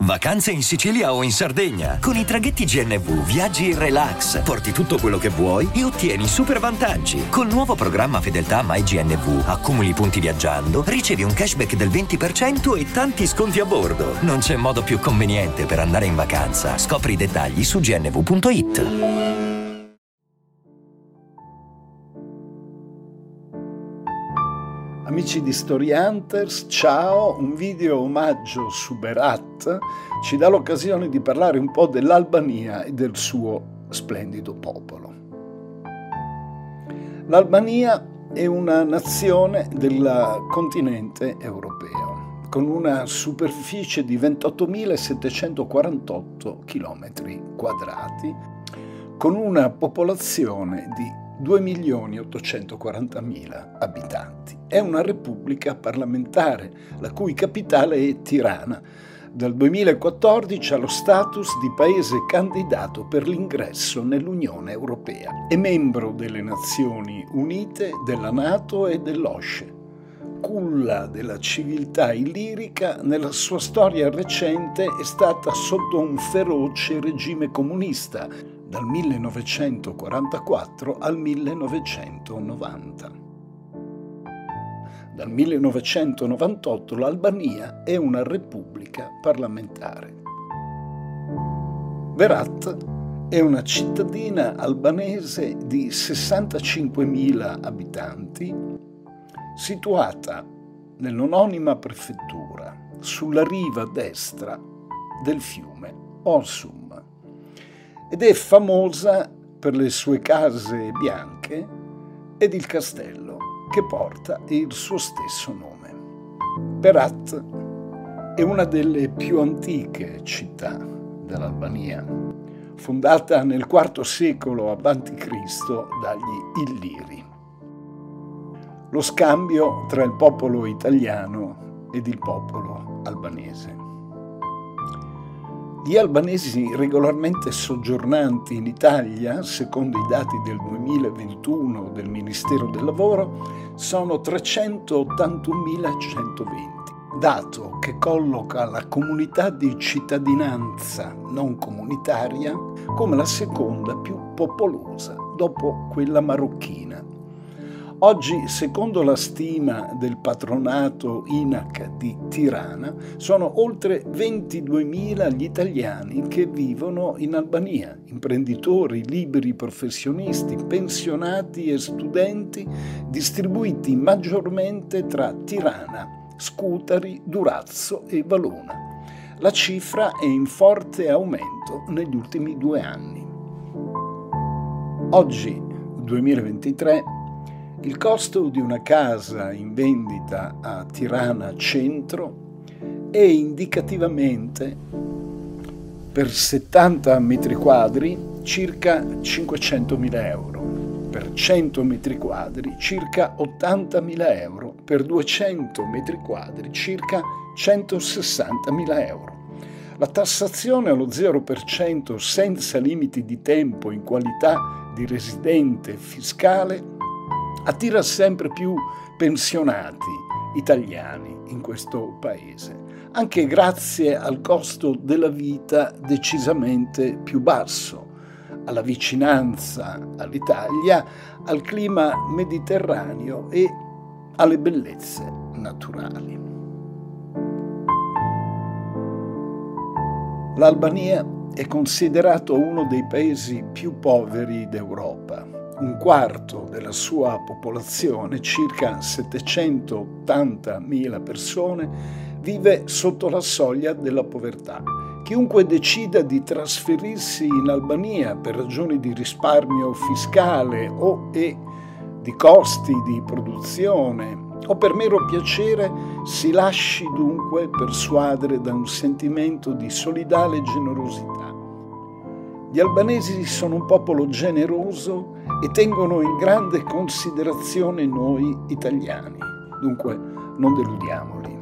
Vacanze in Sicilia o in Sardegna. Con i traghetti GNV viaggi in relax, porti tutto quello che vuoi e ottieni super vantaggi. Col nuovo programma Fedeltà MyGNV accumuli punti viaggiando, ricevi un cashback del 20% e tanti sconti a bordo. Non c'è modo più conveniente per andare in vacanza. Scopri i dettagli su gnv.it. Amici di Story Hunters, ciao! Un video omaggio su Berat ci dà l'occasione di parlare un po' dell'Albania e del suo splendido popolo. L'Albania è una nazione del continente europeo, con una superficie di 28.748 km quadrati, con una popolazione di 2.840.000 abitanti. È una repubblica parlamentare, la cui capitale è Tirana. Dal 2014 ha lo status di paese candidato per l'ingresso nell'Unione Europea. È membro delle Nazioni Unite, della NATO e dell'OSCE. Culla della civiltà illirica, nella sua storia recente è stata sotto un feroce regime comunista, dal 1944 al 1990. Dal 1998 l'Albania è una repubblica parlamentare. Berat è una cittadina albanese di 65.000 abitanti, situata nell'omonima prefettura, sulla riva destra del fiume Orsum, ed è famosa per le sue case bianche ed il castello che porta il suo stesso nome. Berat è una delle più antiche città dell'Albania, fondata nel IV secolo a.C. dagli Illiri. Lo scambio tra il popolo italiano ed il popolo albanese. Gli albanesi regolarmente soggiornanti in Italia, secondo i dati del 2021 del Ministero del Lavoro, sono 381.120, dato che colloca la comunità di cittadinanza non comunitaria come la seconda più popolosa dopo quella marocchina. Oggi, secondo la stima del patronato INAC di Tirana, sono oltre 22.000 gli italiani che vivono in Albania, imprenditori, liberi professionisti, pensionati e studenti, distribuiti maggiormente tra Tirana, Scutari, Durazzo e Valona. La cifra è in forte aumento negli ultimi 2 anni. Oggi, 2023, il costo di una casa in vendita a Tirana Centro è indicativamente per 70 metri quadri circa 500.000 euro, per 100 metri quadri circa 80.000 euro, per 200 metri quadri circa 160.000 euro. La tassazione allo 0% senza limiti di tempo in qualità di residente fiscale attira sempre più pensionati italiani in questo paese, anche grazie al costo della vita decisamente più basso, alla vicinanza all'Italia, al clima mediterraneo e alle bellezze naturali. L'Albania è considerato uno dei paesi più poveri d'Europa. Un quarto della sua popolazione, circa 780.000 persone, vive sotto la soglia della povertà. Chiunque decida di trasferirsi in Albania per ragioni di risparmio fiscale e di costi di produzione o per mero piacere si lasci dunque persuadere da un sentimento di solidale generosità. Gli albanesi sono un popolo generoso e tengono in grande considerazione noi italiani, dunque non deludiamoli.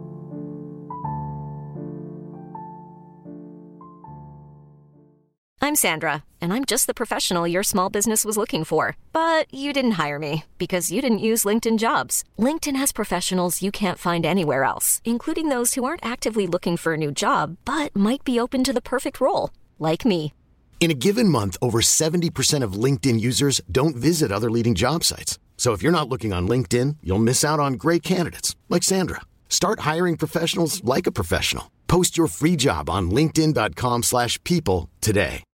I'm I'm Sandra, and I'm just the professional your small business was looking for. But you didn't hire me because you didn't use LinkedIn Jobs. LinkedIn has professionals you can't find anywhere else, including those who aren't actively looking for a new job, but might be open to the perfect role, like me. In a given month, over 70% of LinkedIn users don't visit other leading job sites. So if you're not looking on LinkedIn, you'll miss out on great candidates like Sandra. Start hiring professionals like a professional. Post your free job on linkedin.com/people today.